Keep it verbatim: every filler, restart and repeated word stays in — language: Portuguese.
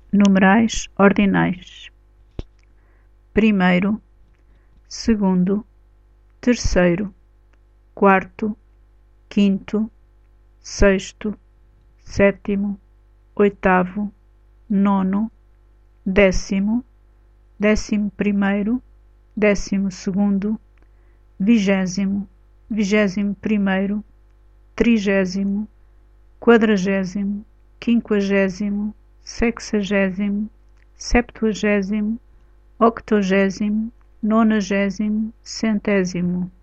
Numerais ordinais: primeiro, segundo, terceiro, quarto, quinto, sexto, sétimo, oitavo, nono, décimo, décimo primeiro, décimo segundo, vigésimo, vigésimo primeiro, trigésimo, quadragésimo, quinquagésimo, sexagésimo, septuagésimo, octogésimo, nonagésimo, centésimo